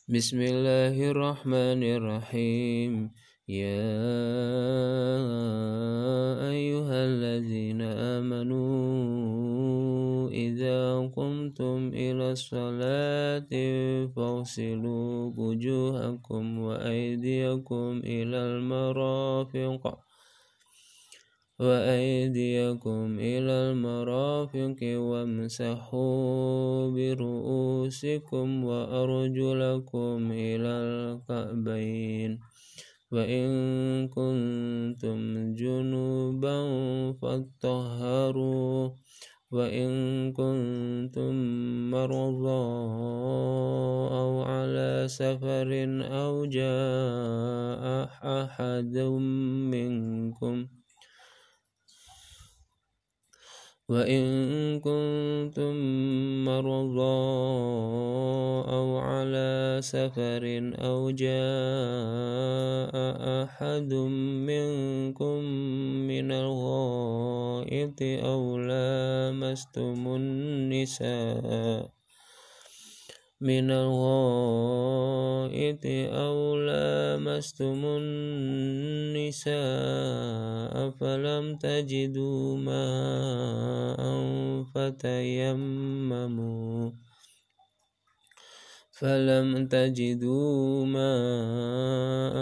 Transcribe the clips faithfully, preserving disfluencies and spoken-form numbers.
Bismillahirrahmanirrahim. Ya ayyuhalladzina amanu idza qumtum ila sholati faghsilu wujuhakum wa aydiyakum ilal marafiq وأيديكم إلى المرافق وامسحوا برؤوسكم وأرجلكم إلى الكعبين وإن كنتم جنوبا فاطهروا وإن كنتم مرضى أو على سفر أو جاء أحد منكم وإن كنتم مرضى أو على سفر أو جاء أحد منكم من الغائط أو لامستم النساء من الغائط أو لامستم النساء فلم تجدوا ماء فتيمموا فلم تجدوا ماء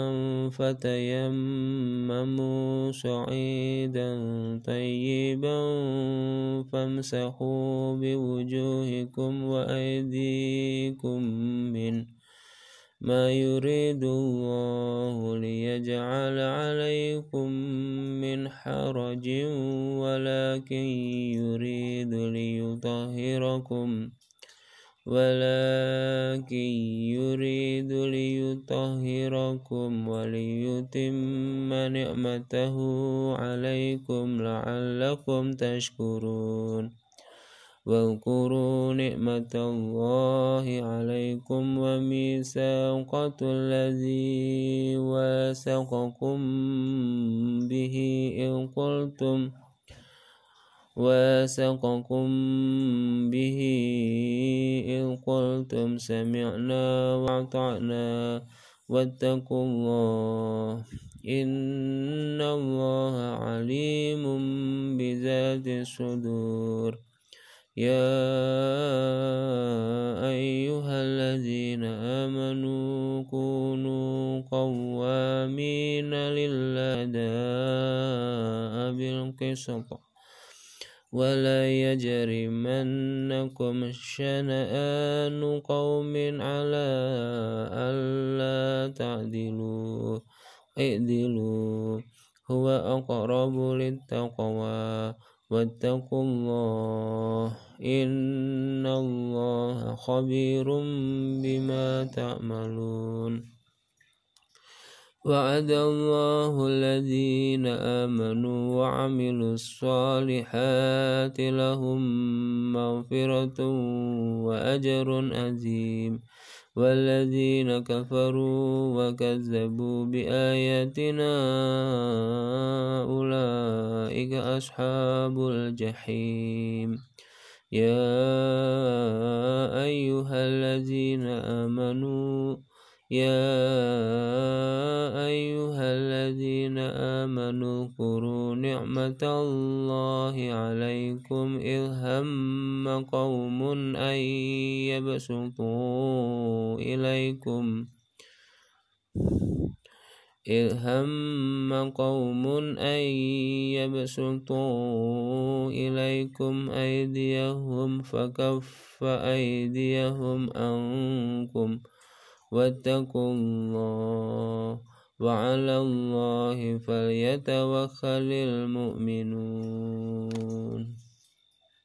فتيمموا صعيدا طيبا فامسحوا بوجوهكم وأيديكم منه ما يريد الله ليجعل عليكم من حرج ولكن يريد ليطهركم ولكن يريد ليطهركم وليتم نعمته عليكم لعلكم تشكرون واذكروا نعمة الله عليكم وميثاقه الذي واثقكم به إذ قلتم واثقكم به إذ قلتم سمعنا وأطعنا واتقوا الله إن الله عليم بذات الصدور يا أيها الذين آمنوا كونوا قوامين لله بالقسط ولا يجرمنكم شنآن قوم على ألا تعدلوا اعدلوا هو أقرب للتقوى واتقوا الله إن الله خبير بما تعملون وعد الله الذين آمنوا وعملوا الصالحات لهم مغفرة وأجر عظيم والذين كفروا وكذبوا بآياتنا أولئك أصحاب الجحيم يا أيها الذين آمنوا يا أيها الذين آمنوا اذكروا نعمة الله عليكم إذ هم قوم أن يبسطوا إليكم إذ هم قوم أن يبسطوا إليكم أيديهم فكف أيديهم عنكم واتقوا الله وعلى الله فليتوكل المؤمنون